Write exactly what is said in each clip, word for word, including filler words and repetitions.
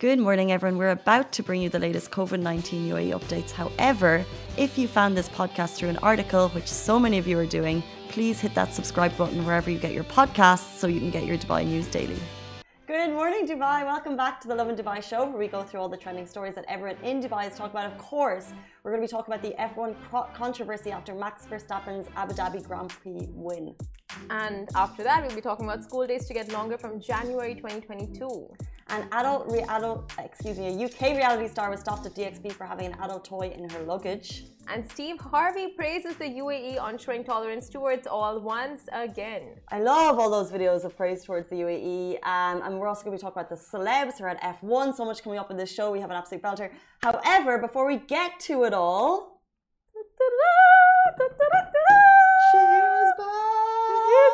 Good morning, everyone. We're about to bring you the latest COVID nineteen U A E updates. However, if you found this podcast through an article, which so many of you are doing, please hit that subscribe button wherever you get your podcasts so you can get your Dubai news daily. Good morning, Dubai. Welcome back to the Lovin Dubai show, where we go through all the trending stories that everyone in Dubai is talking about. Of course, we're going to be talking about the F one controversy after Max Verstappen's Abu Dhabi Grand Prix win. And after that, we'll be talking about school days to get longer from January twenty twenty-two. An adult, re adult, excuse me, a U K reality star was stopped at D X B for having an adult toy in her luggage. And Steve Harvey praises the U A E onshoring tolerance towards all once again. I love all those videos of praise towards the U A E. Um, and we're also going to be talking about the celebs who are at F one. So much coming up in this show. We have an absolute belter. However, before we get to it all, Shahir's back! Shahir's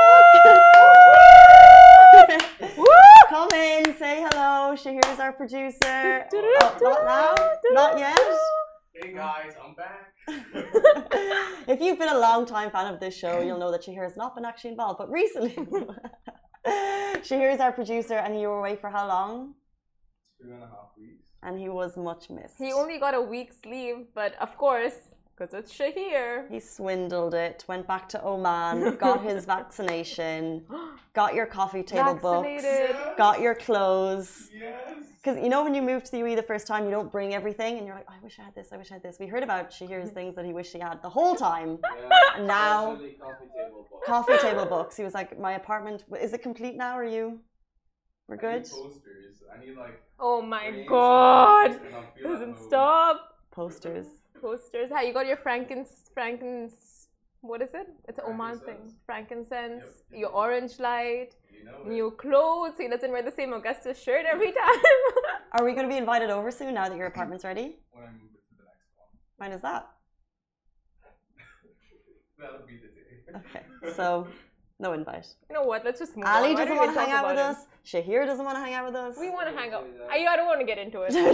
back! Come in, say hello. Shahir's our producer. Oh, not now? Not yet? Hey guys, I'm back. If you've been a long time fan of this show, you'll know that Shahir has not been actually involved. But recently, Shahir is our producer, and you were away for how long? Two and a half weeks. And he was much missed. He only got a week's leave, but of course, because it's Shahir. He swindled it, went back to Oman, got his vaccination, got your coffee table Vaccinated. books, got your clothes. Yes. Because you know when you move to the U A E the first time, you don't bring everything, and you're like, oh, I wish I had this, I wish I had this. We heard about Shahir's things that he wished he had the whole time. Yeah, And now, especially coffee table books. coffee table books. He was like, my apartment, is it complete now? Are you? We're I good? need posters. I need like. Oh my frames god! and posters, and I'll feel at Doesn't home. stop. Posters. Posters. Hey, you got your Frankens, Frankens, what is it? It's an Oman thing. Frankincense. Frankincense, Yep. your orange light, You know it. new clothes. He doesn't wear the same Augusta shirt every time. Are we going to be invited over soon now that your apartment's ready? When I move it to the next one. When is that? That'll be the day. Okay, so no invite. You know what? Let's just move Ali on. Why doesn't don't want we to hang talk out with about us. Shahir doesn't want to hang out with us. it? We want to hang out. Don't say that. I, I don't want to get into it.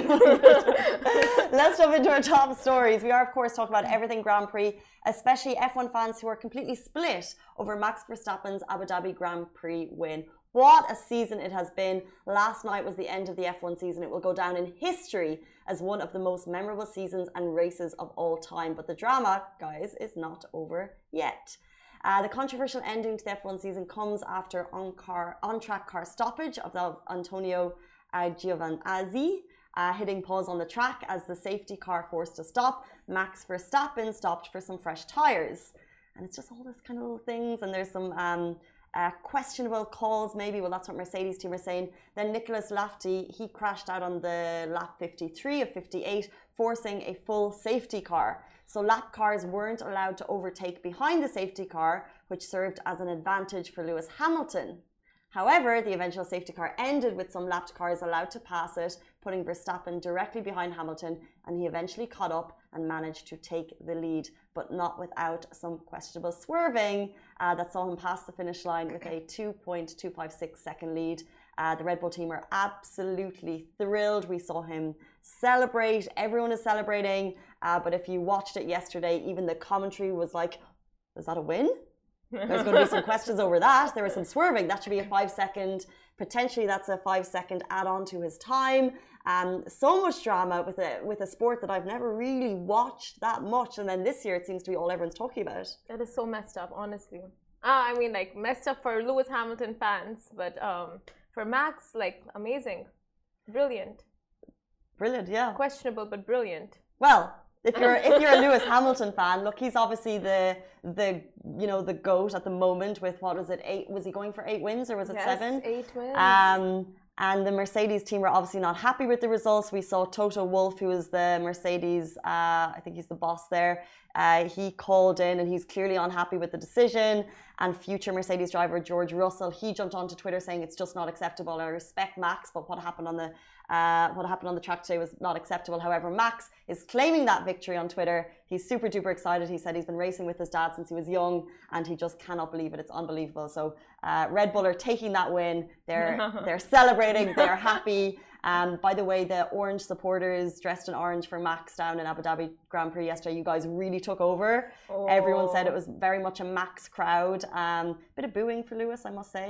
Let's jump into our top stories. We are, of course, talking about everything Grand Prix, especially F one fans who are completely split over Max Verstappen's Abu Dhabi Grand Prix win. What a season it has been. Last night was the end of the F one season. It will go down in history as one of the most memorable seasons and races of all time. But the drama, guys, is not over yet. Uh, the controversial ending to the F one season comes after on-car, on-track car stoppage of the Antonio uh, Giovinazzi, uh, hitting pause on the track as the safety car forced to stop. Max Verstappen stopped for some fresh tyres. And it's just all this kind of little things. And there's some um, uh, questionable calls, maybe. Well, that's what Mercedes team are saying. Then Nicholas Lafty, he crashed out on the lap fifty-three of fifty-eight, forcing a full safety car. So lap cars weren't allowed to overtake behind the safety car, which served as an advantage for Lewis Hamilton. However, the eventual safety car ended with some lapped cars allowed to pass it, putting Verstappen directly behind Hamilton, and he eventually caught up and managed to take the lead, but not without some questionable swerving uh, that saw him pass the finish line with a two point two five six second lead. Uh, the Red Bull team are absolutely thrilled. We saw him celebrate. Everyone is celebrating. Uh, but if you watched it yesterday, even the commentary was like, was that a win? There's going to be some questions over that. There was some swerving. That should be a five second, potentially that's a five second add-on to his time. Um, so much drama with a, with a sport that I've never really watched that much. And then this year, it seems to be all everyone's talking about. That is so messed up, honestly. Uh, I mean, like, messed up for Lewis Hamilton fans, but um, for Max, like, amazing. Brilliant. Brilliant, yeah. Questionable, but brilliant. Well, if you're if you're a Lewis Hamilton fan, look, he's obviously the the you know the GOAT at the moment with what was it eight? Was he going for eight wins or was it Yes, seven? eight wins. Um, and the Mercedes team were obviously not happy with the results. We saw Toto Wolff, who is the Mercedes, uh, I think he's the boss there. Uh, he called in and he's clearly unhappy with the decision. And future Mercedes driver George Russell, he jumped onto Twitter saying it's just not acceptable. I respect Max, but what happened on the uh, what happened on the track today was not acceptable. However, Max is claiming that victory on Twitter. He's super duper excited. He said he's been racing with his dad since he was young, and he just cannot believe it. It's unbelievable. So uh, Red Bull are taking that win. They're they're celebrating. They're happy. Um, by the way, the orange supporters dressed in orange for Max down in Abu Dhabi Grand Prix yesterday, you guys really took over. Oh. Everyone said it was very much a Max crowd. Um, bit of booing for Lewis, I must say.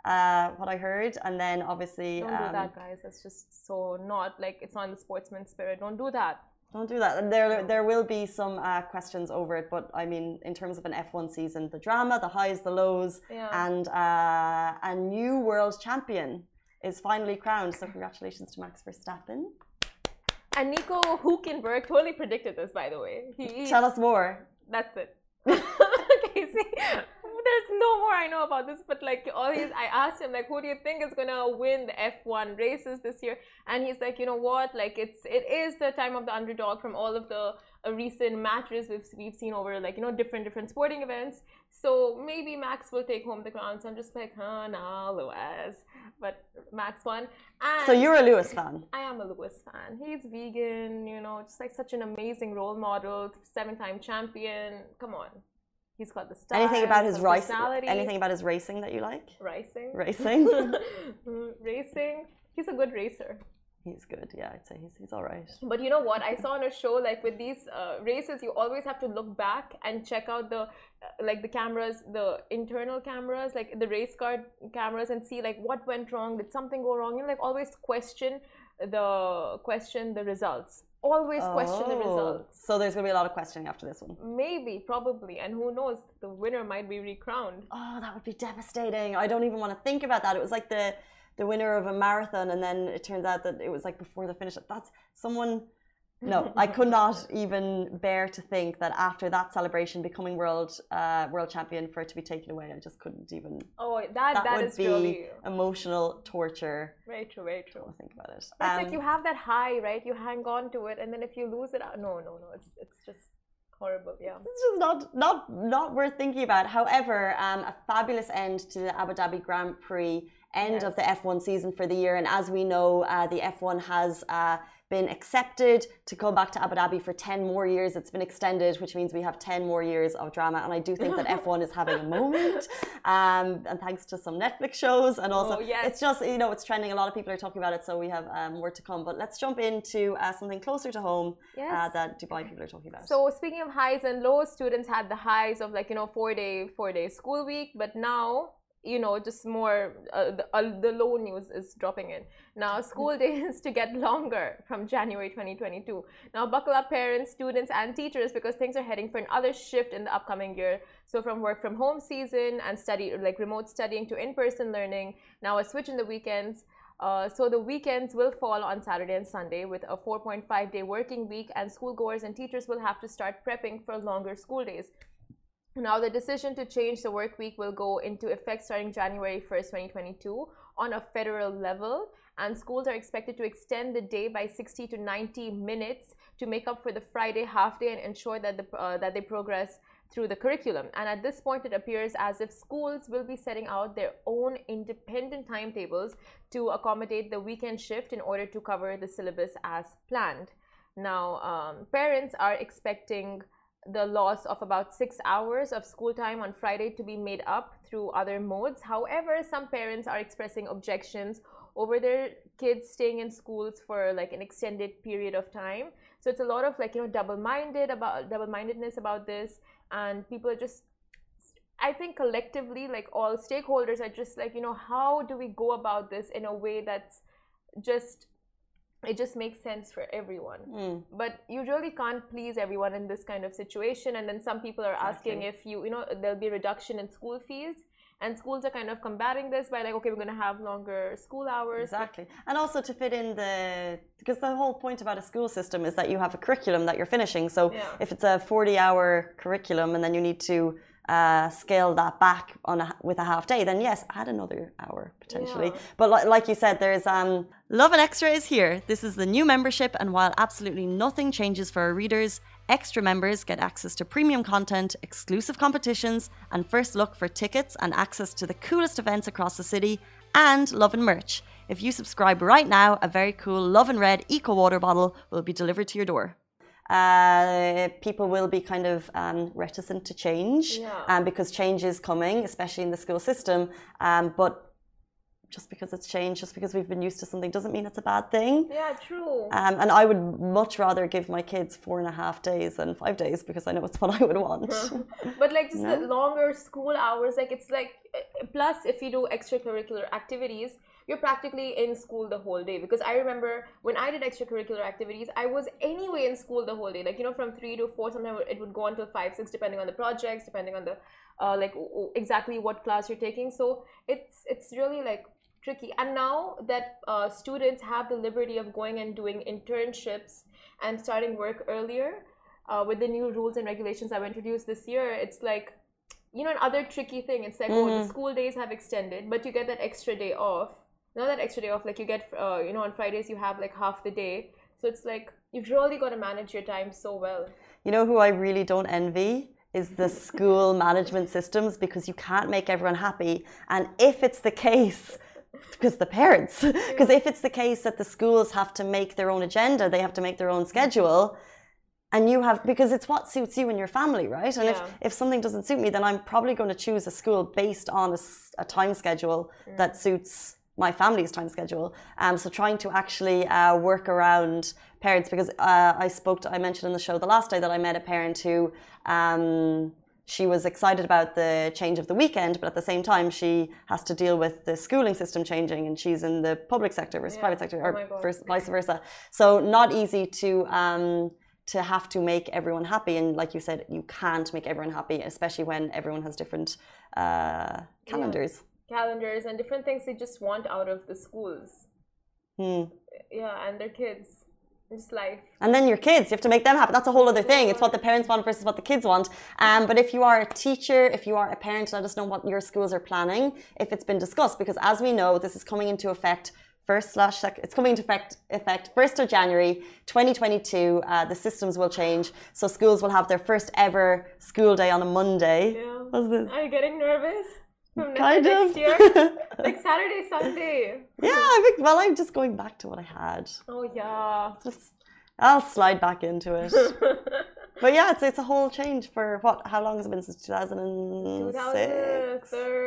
uh, what I heard. And then obviously... Don't um, do that, guys. That's just so not, like, it's not in the sportsman spirit. Don't do that. Don't do that. And there, there will be some uh, questions over it, but I mean, in terms of an F one season, the drama, the highs, the lows, Yeah. and uh, a new world champion is finally crowned. So congratulations to Max Verstappen. And Nico Hülkenberg totally predicted this, by the way. He, Tell us more. That's it. Okay, see, there's no more I know about this, but like always, I asked him like, who do you think is gonna win the F one races this year? And he's like, you know what? Like it's it is the time of the underdog from all of the uh, recent matches we've we've seen over like you know different different sporting events. So maybe Max will take home the crown. So I'm just like, huh, nah, Lewis. But Max won. And So you're a Lewis fan. I am a Lewis fan. He's vegan, you know, just like such an amazing role model, seven-time champion. Come on. He's got the style. Anything about his the racing? personality. Anything about his racing that you like? Racing. Racing. Racing. He's a good racer. He's good. Yeah, I'd say he's he's all right. But you know what? I saw on a show like with these uh, races, you always have to look back and check out the uh, like the cameras, the internal cameras, like the race car cameras, and see like what went wrong. Did something go wrong? You know, like always question the question the results. Always question the Oh, results. So there's gonna be a lot of questioning after this one. Maybe, probably, and who knows? The winner might be recrowned. Oh, that would be devastating. I don't even want to think about that. It was like the the winner of a marathon, and then it turns out that it was like before the finish. That's someone. No, I could not even bear to think that after that celebration, becoming world uh, world champion, for it to be taken away. I just couldn't even. Oh, that That, that would is be really emotional torture. very true, very true. Don't think about it. But it's Um, like you have that high, right? You hang on to it, and then if you lose it, no, no, no. It's it's just horrible. Yeah. It's just not not not worth thinking about. However, um, a fabulous end to the Abu Dhabi Grand Prix, end Yes. of the F one season for the year, and as we know, uh, the F one has uh, been accepted to go back to Abu Dhabi for ten more years. It's been extended, which means we have ten more years of drama, and I do think that F one is having a moment. Um, and thanks to some Netflix shows, and also Oh, yes. it's just you know it's trending. A lot of people are talking about it, so we have um, more to come. But let's jump into uh, something closer to home Yes. uh, that Dubai people are talking about. So speaking of highs and lows, students had the highs of like you know four day four day school week, but now you know just more uh, the, uh, the low news is dropping in. Now school days to get longer from January twenty twenty-two. Now buckle up, parents, students, and teachers, because things are heading for another shift in the upcoming year. So from work from home season and study like remote studying to in-person learning, now a switch in the weekends. Uh, so the weekends will fall on Saturday and Sunday with a four point five day working week, and schoolgoers and teachers will have to start prepping for longer school days. Now, the decision to change the work week will go into effect starting January first, twenty twenty-two on a federal level, and schools are expected to extend the day by sixty to ninety minutes to make up for the Friday half day and ensure that, the, uh, that they progress through the curriculum. And at this point, it appears as if schools will be setting out their own independent timetables to accommodate the weekend shift in order to cover the syllabus as planned. Now, um, parents are expecting the loss of about six hours of school time on Friday to be made up through other modes. However, some parents are expressing objections over their kids staying in schools for like an extended period of time. So it's a lot of like, you know, double-minded about double-mindedness about this, and people are just, I think collectively, like all stakeholders are just like, you know, how do we go about this in a way that's just, it just makes sense for everyone. Mm. But you really can't please everyone in this kind of situation. And then some people are Exactly. asking if you, you know, there'll be a reduction in school fees. And schools are kind of combating this by like, okay, we're going to have longer school hours. Exactly. And also to fit in the, because the whole point about a school system is that you have a curriculum that you're finishing. So Yeah. if it's a forty hour curriculum and then you need to uh, scale that back on a, with a half day, then yes, add another hour potentially. Yeah. But li- like you said, there's um, Love and Extra is here. This is the new membership, and while absolutely nothing changes for our readers, extra members get access to premium content, exclusive competitions, and first look for tickets and access to the coolest events across the city, and Love and merch. If you subscribe right now, a very cool Love and Red Eco Water bottle will be delivered to your door. Uh, people will be kind of um, reticent to change Yeah. um, because change is coming, especially in the school system. Um, but just because it's changed, just because we've been used to something doesn't mean it's a bad thing. Yeah, true. Um, and I would much rather give my kids four and a half days than five days because I know it's what I would want. But like just No? the longer school hours, like it's like, plus if you do extracurricular activities, you're practically in school the whole day. Because I remember when I did extracurricular activities, I was anyway in school the whole day. Like, you know, from three to four, sometimes it would go until five, six, depending on the projects, depending on the, uh, like exactly what class you're taking. So it's, it's really like tricky. And now that uh, students have the liberty of going and doing internships and starting work earlier, uh, with the new rules and regulations that were introduced this year, it's like, you know, another tricky thing. It's like, mm-hmm. oh, the school days have extended, but you get that extra day off. Not that extra day off, like you get, uh, you know, on Fridays you have like half the day. So it's like, you've really got to manage your time so well. You know who I really don't envy? Is the school management systems, because you can't make everyone happy. And if it's the case, because the parents, because yeah. if it's the case that the schools have to make their own agenda, they have to make their own schedule, and you have, because it's what suits you and your family, right? And yeah. if, if something doesn't suit me, then I'm probably going to choose a school based on a, a time schedule mm. that suits my family's time schedule. Um, so trying to actually uh, work around parents, because uh, I spoke to, I mentioned in the show the last day that I met a parent who, um, she was excited about the change of the weekend, but at the same time, she has to deal with the schooling system changing, and she's in the public sector versus yeah. private sector, or oh versus, vice versa. So not easy to, um, to have to make everyone happy. And like you said, you can't make everyone happy, especially when everyone has different uh, calendars. Yeah. calendars and different things they just want out of the schools. Hmm. Yeah, and their kids. It's life. And then your kids, you have to make them happy. That's a whole other thing. It's what the parents want versus what the kids want. Um, but if you are a teacher, if you are a parent, let us know what your schools are planning, if it's been discussed. Because as we know, this is coming into effect first slash sec it's coming into effect effect first of January twenty twenty-two. Uh, the systems will change, so schools will have their first ever school day on a Monday. Yeah. What's this? Are you getting nervous? From kind next of year? Like Saturday, Sunday. Yeah, I think, well, I'm just going back to what I had. Oh yeah. Just, I'll slide back into it. But yeah, it's it's a whole change for what? How long has it been since two thousand six?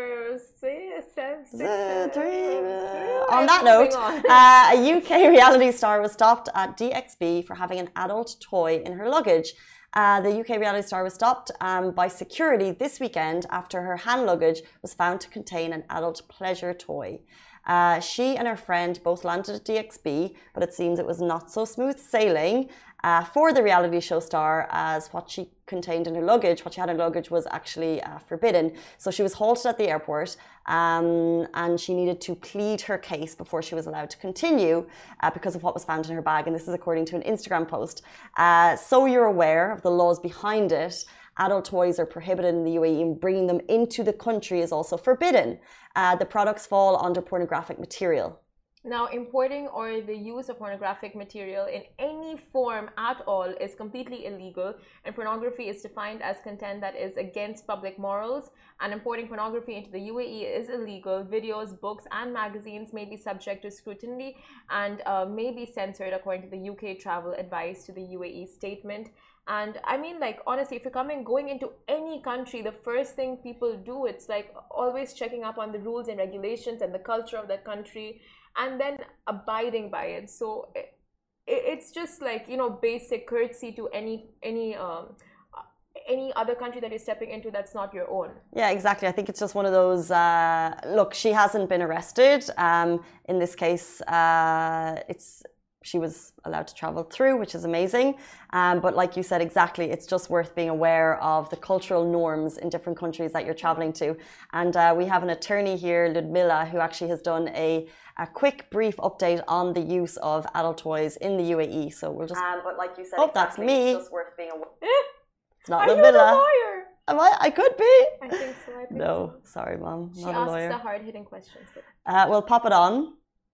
On that note, uh, a U K reality star was stopped at D X B for having an adult toy in her luggage. Uh, the U K reality star was stopped um, by security this weekend after her hand luggage was found to contain an adult pleasure toy. Uh, she and her friend both landed at D X B, but it seems it was not so smooth sailing uh, for the reality show star, as what she contained in her luggage, what she had in her luggage, was actually uh, forbidden. So she was halted at the airport, um, and she needed to plead her case before she was allowed to continue uh, because of what was found in her bag. And this is according to an Instagram post. Uh, so you're aware of the laws behind it. Adult toys are prohibited in the U A E, and bringing them into the country is also forbidden. Uh, the products fall under pornographic material. Now, importing or the use of pornographic material in any form at all is completely illegal, and pornography is defined as content that is against public morals, and importing pornography into the U A E is illegal. Videos, books, and magazines may be subject to scrutiny and uh, may be censored according to the U K travel advice to the U A E statement. And I mean, like, honestly, if you're coming, going into any country, the first thing people do, it's like always checking up on the rules and regulations and the culture of that country, and then abiding by it. So it, it's just like, you know, basic courtesy to any any um, any other country that you're stepping into that's not your own. Yeah, exactly. I think it's just one of those, uh, look, she hasn't been arrested. Um, in this case, uh, it's she was allowed to travel through, which is amazing. Um, but like you said, exactly, it's just worth being aware of the cultural norms in different countries that you're traveling to. And uh, we have an attorney here, Ludmila, who actually has done a, a quick, brief update on the use of adult toys in the U A E. So we'll just... Um, but like you said, oh, exactly, that's me. It's just worth being aware. It's not Are Ludmila. you a lawyer? Am I? I could be. I think so. I think no, so. Sorry, Mom. She not asks a lawyer. the hard-hitting questions. But... Uh, we'll pop it on.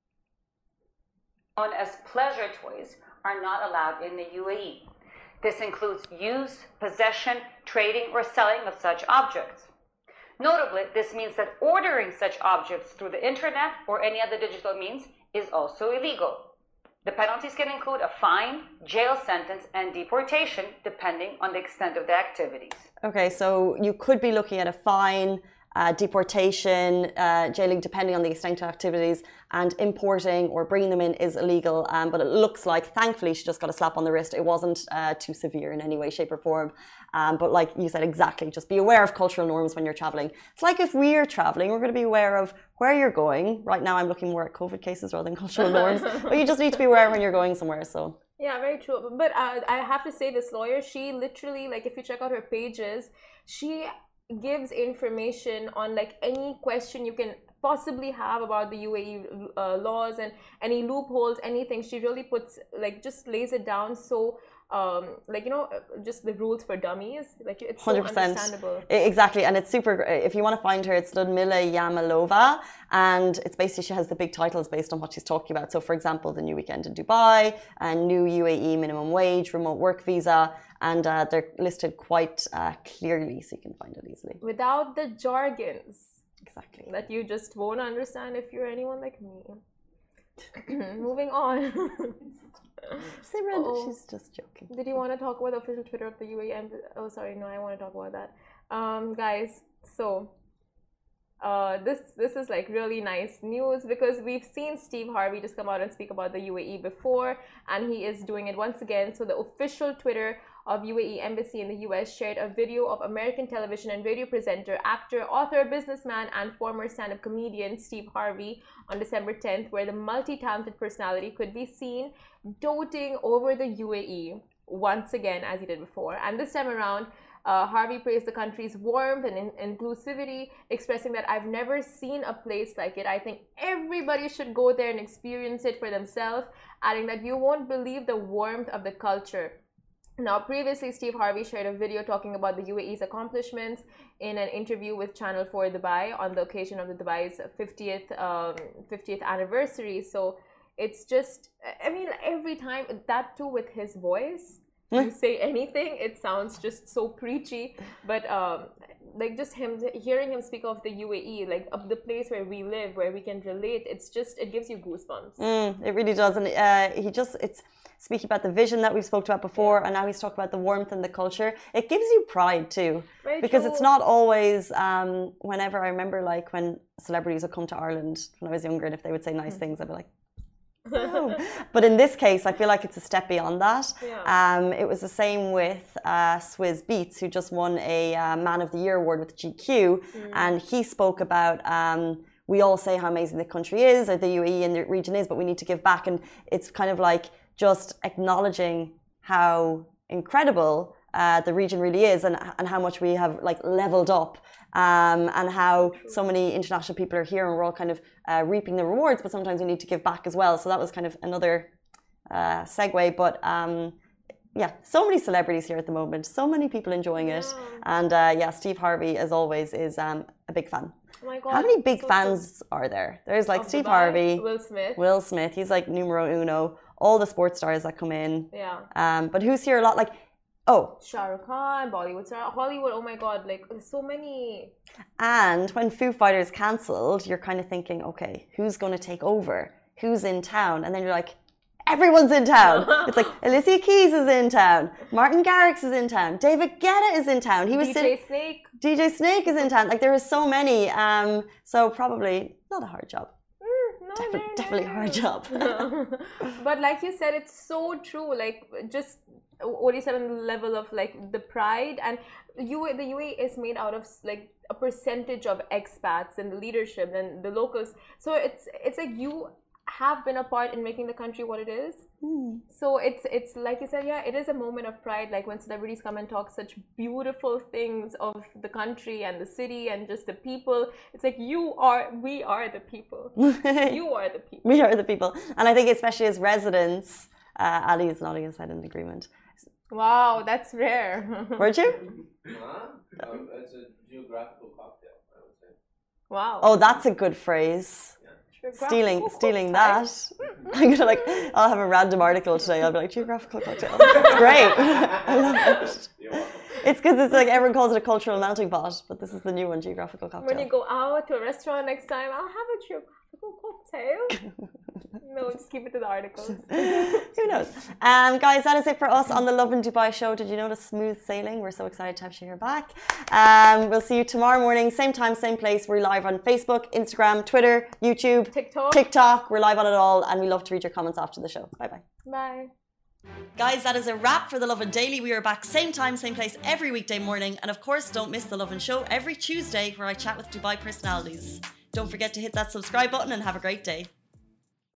Known as pleasure toys are not allowed in the U A E. This includes use, possession, trading, or selling of such objects. Notably, this means that ordering such objects through the internet or any other digital means is also illegal. The penalties can include a fine, jail sentence, and deportation, depending on the extent of the activities. Okay, so you could be looking at a fine, uh, deportation, uh, jailing, depending on the extent of activities, and importing or bringing them in is illegal. Um, but it looks like, thankfully, she just got a slap on the wrist. It wasn't uh, too severe in any way, shape, or form. Um, but like you said, exactly, just be aware of cultural norms when you're traveling. It's like if we're traveling, we're going to be aware of where you're going. Right now, I'm looking more at COVID cases rather than cultural norms. But you just need to be aware when you're going somewhere. So. Yeah, very true. But uh, I have to say, this lawyer, she literally, like, if you check out her pages, she gives information on like any question you can possibly have about the U A E uh, laws and any loopholes, anything. She really puts, like, just lays it down so um like, you know, just the rules for dummies, like it's so understandable. Exactly. And it's super, if you want to find her, it's Ludmila Yamalova, and it's basically, she has the big titles based on what she's talking about. So for example, the new weekend in Dubai, and new U A E minimum wage, remote work visa, and uh, they're listed quite uh, clearly, so you can find it easily without the jargons. Exactly. That you just won't understand if you're anyone like me. Moving on. Simran, oh, she's just joking. Did you want to talk about the official Twitter of the U A E? Oh, sorry, no, I want to talk about that. Um, guys, so uh, this this is like really nice news, because we've seen Steve Harvey just come out and speak about the U A E before, and he is doing it once again. So the official Twitter of U A E Embassy in the U S shared a video of American television and radio presenter, actor, author, businessman, and former stand-up comedian Steve Harvey on December tenth, where the multi-talented personality could be seen doting over the U A E once again, as he did before. And this time around, uh, Harvey praised the country's warmth and in inclusivity, expressing that I've never seen a place like it. I think everybody should go there and experience it for themselves, adding that you won't believe the warmth of the culture. Now, previously, Steve Harvey shared a video talking about the U A E's accomplishments in an interview with Channel four Dubai on the occasion of the Dubai's fiftieth, um, fiftieth anniversary. So it's just, I mean, every time, that too with his voice, you say anything, it sounds just so preachy. But um, like just him, hearing him speak of the U A E, like of the place where we live, where we can relate, it's just, it gives you goosebumps. Mm, it really does. And uh, he just, it's, speaking about the vision that we've spoke about before, and now he's talking about the warmth and the culture. It gives you pride too. Very because true. It's not always, um, whenever I remember like when celebrities would come to Ireland when I was younger, and if they would say nice things, I'd be like, oh. But in this case, I feel like it's a step beyond that. Yeah. Um, it was the same with uh, Swizz Beatz, who just won a uh, Man of the Year award with G Q, mm. and he spoke about um, we all say how amazing the country is, or the U A E and the region is, but we need to give back. And it's kind of like just acknowledging how incredible uh, the region really is, and, and how much we have like leveled up, um, and how so many international people are here, and we're all kind of uh, reaping the rewards, but sometimes we need to give back as well. So that was kind of another uh, segue. But um, yeah, so many celebrities here at the moment, so many people enjoying it. Yeah. And uh, yeah, Steve Harvey, as always, is um, a big fan. Oh my God, how many big so fans cool. are there? There's like of Steve Dubai, Harvey, Will Smith. Will Smith, he's like numero uno. All the sports stars that come in. Yeah. Um, but who's here a lot? Like, oh. Shah Rukh Khan, Bollywood star, Hollywood, oh my God, like so many. And when Foo Fighters cancelled, you're kind of thinking, okay, who's going to take over? Who's in town? And then you're like, everyone's in town. It's like Alicia Keys is in town. Martin Garrix is in town. David Guetta is in town. He was D J sitting, Snake. D J Snake is in town. Like there is so many. Um, so probably not a hard job. No, Definitely, no, no, definitely a no. hard job. But like you said, it's so true. Like just what you said on the level of like the pride, and U A, the U A E is made out of like a percentage of expats and the leadership and the locals. So it's it's like you have been a part in making the country what it is. Mm. So it's it's like you said, yeah, it is a moment of pride, like when celebrities come and talk such beautiful things of the country and the city and just the people. It's like you are, we are the people. You are the people. We are the people. And I think especially as residents, uh, Ali is nodding his head in agreement. Wow, that's rare. Weren't you? Huh? Um, it's a geographical cocktail, I would say. Wow. Oh, that's a good phrase. Stealing, stealing that. I'm gonna like, I'll have a random article today. I'll be like, geographical cocktail. It's great. I love it. It's because it's like everyone calls it a cultural melting pot, but this is the new one, geographical cocktail. When you go out to a restaurant next time, I'll have a geographical cocktail. No, just keep it to the articles. Who knows? Um, guys, that is it for us on the Love in Dubai show. Did you notice smooth sailing? We're so excited to have you here back. Um, we'll see you tomorrow morning, same time, same place. We're live on Facebook, Instagram, Twitter, YouTube, TikTok. TikTok. We're live on it all, and we love to read your comments after the show. Bye-bye. Bye. Guys, that is a wrap for the Lovin Daily. We are back same time, same place every weekday morning. And of course, don't miss the Lovin Show every Tuesday where I chat with Dubai personalities. Don't forget to hit that subscribe button and have a great day.